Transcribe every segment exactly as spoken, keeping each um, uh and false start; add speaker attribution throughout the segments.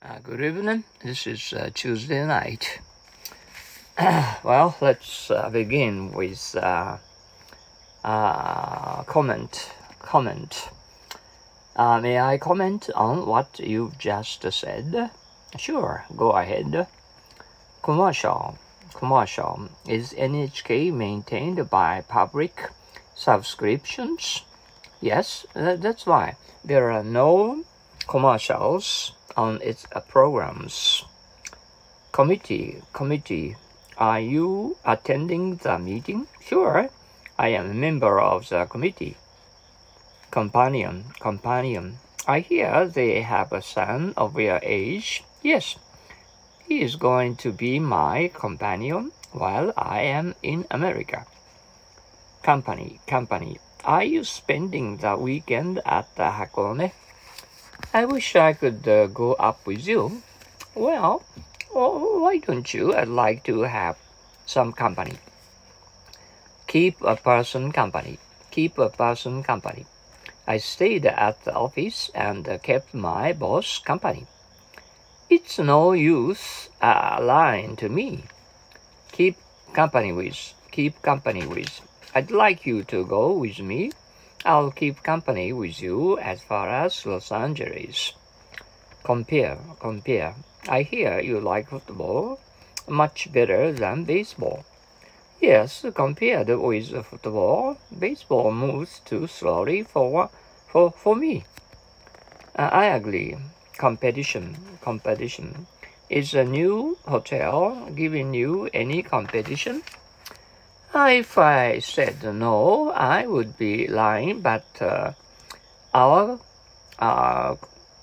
Speaker 1: Uh, good evening. This is uh, Tuesday night. Well, let's uh, begin with uh, uh, comment. Comment. Uh, may I comment on what you've just said? Sure, go ahead. Commercial. Commercial. Is N H K maintained by public subscriptions? Yes, that, that's why there are no commercials on its uh, programs. Committee, committee, are you attending the meeting? Sure, I am a member of the committee. Companion, companion, I hear they have a son of your age. Yes, he is going to be my companion while I am in America. Company, company, are you spending the weekend at the Hakone? I wish I could uh, go up with you. Well, oh, why don't you? I'd like to have some company. Keep a person company. Keep a person company. I stayed at the office and uh, kept my boss company. It's no use uh, lying to me. Keep company with. Keep company with. I'd like you to go with me. I'll keep company with you as far as Los Angeles. Compare, compare. I hear you like football much better than baseball. Yes, compared with football, baseball moves too slowly for for for me. Uh, I agree. Competition, competition. Is a new hotel giving you any competition? If I said no, I would be lying, but uh, our uh,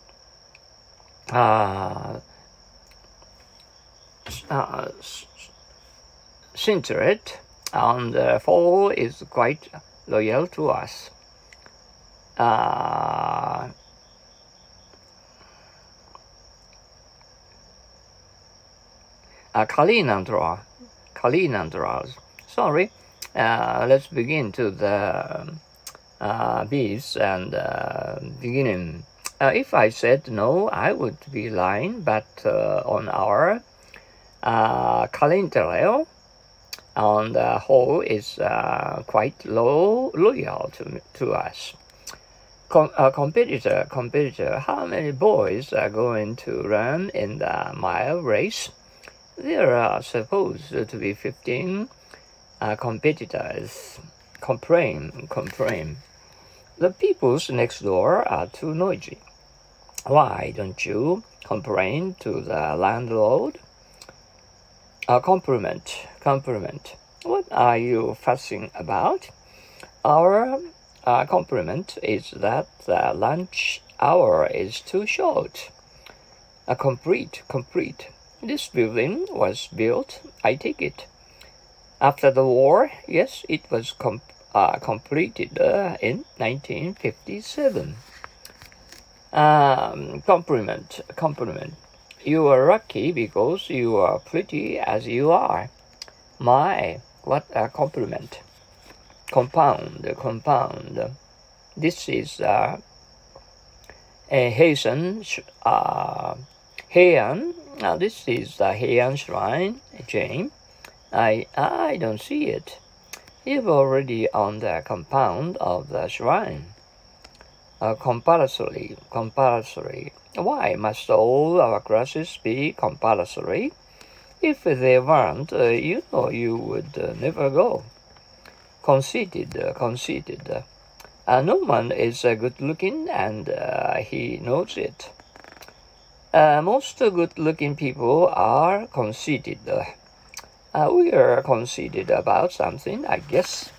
Speaker 1: uh, uh, Sinterate on the fall is quite loyal to us. Uh, uh, Kalinandra, Kalinandras. Sorry, uh, let's begin to the uh, bees and uh, beginning. Uh, if I said no, I would be lying, but uh, on our uh, calendar, on the whole, is uh, quite low, loyal to, to us. Com- uh, competitor, competitor, how many boys are going to run in the mile race? There are supposed to be fifteen uh, competitors. Complain, complain. The peoples next door are too noisy. Why don't you complain to the landlord? A compliment, compliment. What are you fussing about? Our uh, compliment is that the lunch hour is too short. A complete, complete. This building was built, I take it. After the war, yes, it was com- uh, completed uh, in nineteen fifty-seven. Um, compliment, compliment. You are lucky because you are pretty as you are. My, what a compliment. Compound, compound. This is uh, a Heian, uh, Heian. Now this is the Heian Shrine, Jane. I, I don't see it. You're already on the compound of the shrine. Uh, compulsory, compulsory. Why must all our classes be compulsory? If they weren't, uh, you know you would uh, never go. Conceited, uh, conceited. Uh, no one is uh, good-looking, and uh, he knows it. Uh, most good-looking people are conceited. Uh, we are conceited about something, I guess.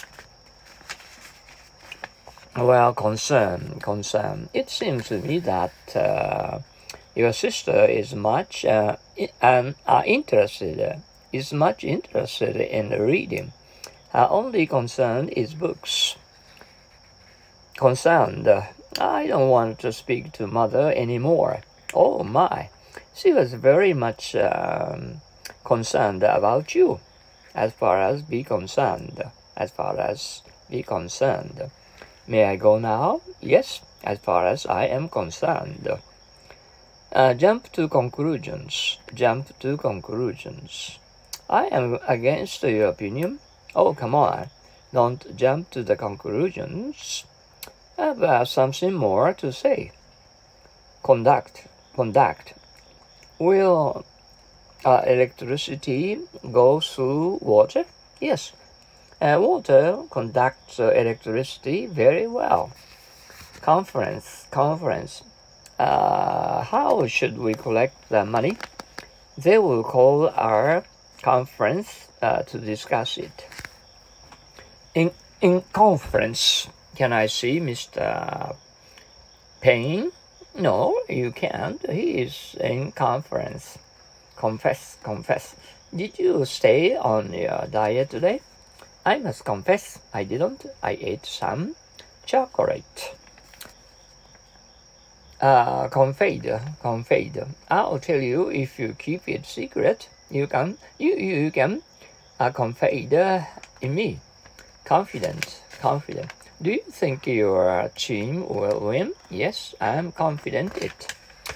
Speaker 1: Well, concern, concern. It seems to me that uh, your sister is much uh, and uh, interested, is much interested in reading. Her only concern is books. Concerned. I don't want to speak to mother anymore. Oh my, she was very much um, concerned about you, as far as be concerned, as far as be concerned. May I go now? Yes, as far as I am concerned. Uh, jump to conclusions. Jump to conclusions. I am against your opinion. Oh, come on. Don't jump to the conclusions. I have uh, something more to say. Conduct. Conduct. Will uh, electricity go through water? Yes. Uh, water conducts uh, electricity very well. Conference. Conference. Uh, how should we collect the money? They will call our conference uh, to discuss it. In in conference, can I see Mister Payne? No, you can't. He is in conference. Confess, confess. Did you stay on your diet today? I must confess, I didn't. I ate some chocolate. Uh, confide, confide. I'll tell you if you keep it secret. You can, you you can, uh, confide uh, in me. Confident, confident. Do you think your team will win? Yes, I'm confident it.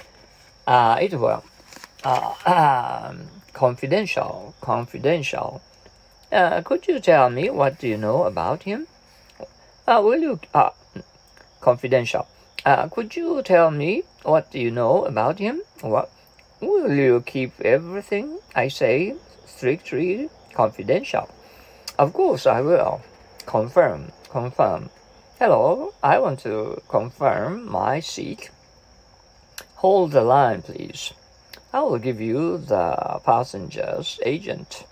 Speaker 1: Uh, it will. Uh, um, confidential, confidential. Uh, could you tell me what do you know about him? Uh, will you? Uh, confidential. Uh, could you tell me what do you know about him? What? Will you keep everything I say strictly confidential? Of course I will. Confirm, confirm. Hello, I want to confirm my seat. Hold the line, please. I will give you the passenger's agent.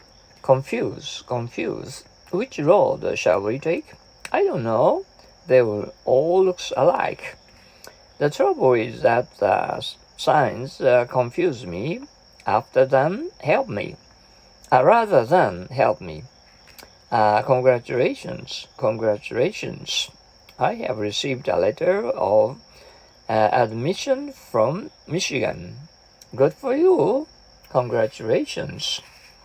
Speaker 1: Confuse, confuse. Which road shall we take? I don't know. They will all look alike. The trouble is that the signs uh, confuse me. After them, help me. Uh, rather than help me. Uh, congratulations, congratulations. I have received a letter of uh, admission from Michigan. Good for you. Congratulations.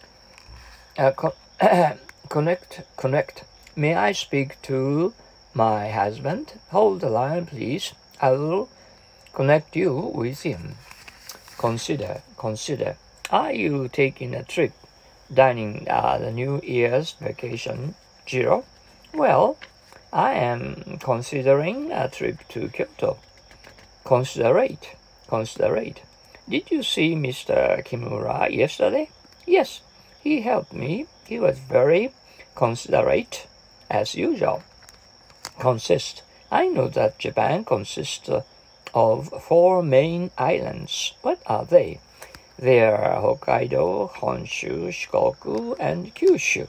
Speaker 1: Uh, co- connect, connect. May I speak to my husband? Hold the line, please. I will connect you with him. Consider, consider. Are you taking a trip dining uh, the New Year's vacation, Jiro? Well, I am considering a trip to Kyoto. Considerate, considerate. Did you see Mister Kimura yesterday? Yes, he helped me. He was very considerate, as usual. Consist. I know that Japan consists of four main islands. What are they? They are Hokkaido, Honshu, Shikoku, and Kyushu.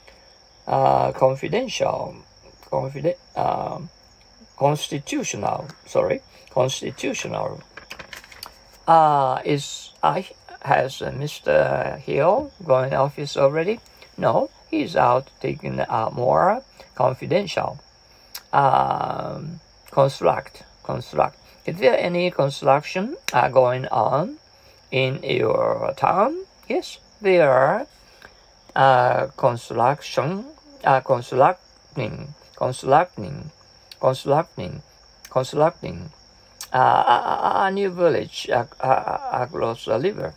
Speaker 1: Uh, confidential, confiden- uh, constitutional, sorry, constitutional. Uh, is uh, has uh, Mister Hill going office already? No, he's out taking uh, more confidential. Um, construct, construct. Is there any construction uh, going on in your town? Yes, there are uh, construction, uh, constructing, constructing, constructing, constructing uh, a, a new village uh, uh, across the river.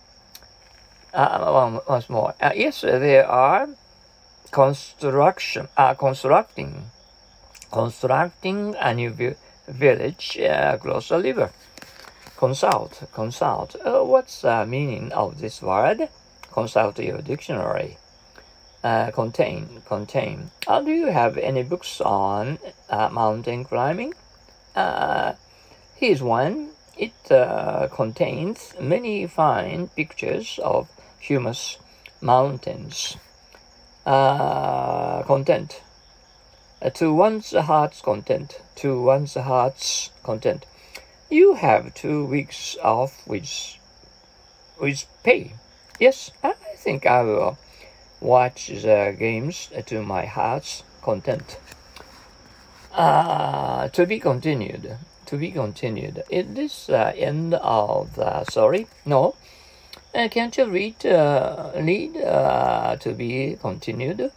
Speaker 1: Uh, once more, uh, yes, there are construction, uh, constructing, constructing a new vi- village uh, across the river. Consult, consult. Uh, what's the meaning of this word? Consult your dictionary. Uh, contain, contain. Uh, do you have any books on uh, mountain climbing? Uh, here's one. It uh, contains many fine pictures of humus mountains. Uh, content. Uh, to one's heart's content. To one's heart's content. You have two weeks off with, with pay. Yes, I think I will watch the games to my heart's content. Uh, to be continued. To be continued. Is this the uh, end of the story? No. Uh, can't you read, uh, read uh, to be continued?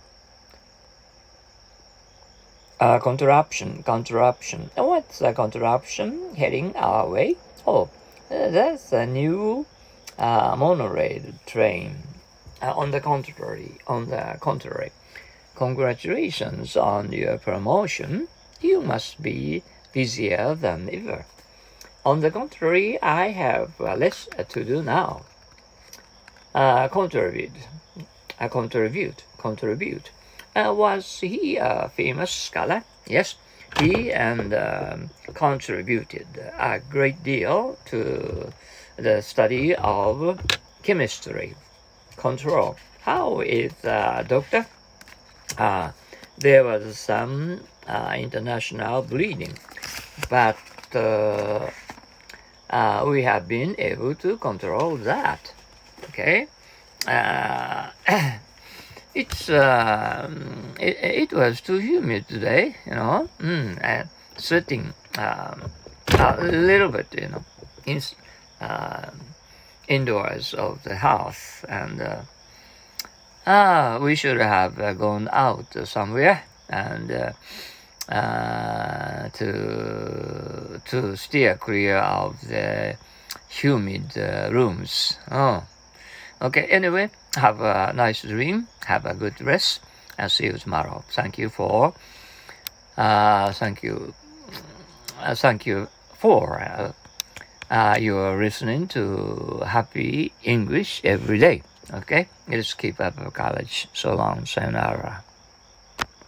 Speaker 1: Uh, contraption, contraption. What's a contraption heading our way? Oh, Uh, that's a new uh, monorail train. Uh, on the contrary, on the contrary, congratulations on your promotion. You must be busier than ever. On the contrary, I have uh, less to do now. Uh, contribute, uh, contribute, contribute. Uh, was he a famous scholar? Yes, he and um, contributed a great deal to the study of chemistry. Control. How is uh, doctor? Uh, there was some uh, international bleeding, but uh, uh, we have been able to control that. Okay, uh, it's uh, it, it was too humid today, you know, mm, and sweating um, a little bit, you know, in, uh, indoors of the house, and uh, uh, we should have uh, gone out somewhere and uh, uh, to to steer clear of the humid uh, rooms. Oh. Okay, anyway, have a nice dream, have a good rest, and see you tomorrow. Thank you for, uh, thank you, uh, thank you for uh, uh, your listening to Happy English every day. Okay, let's keep up college. So long, sayonara.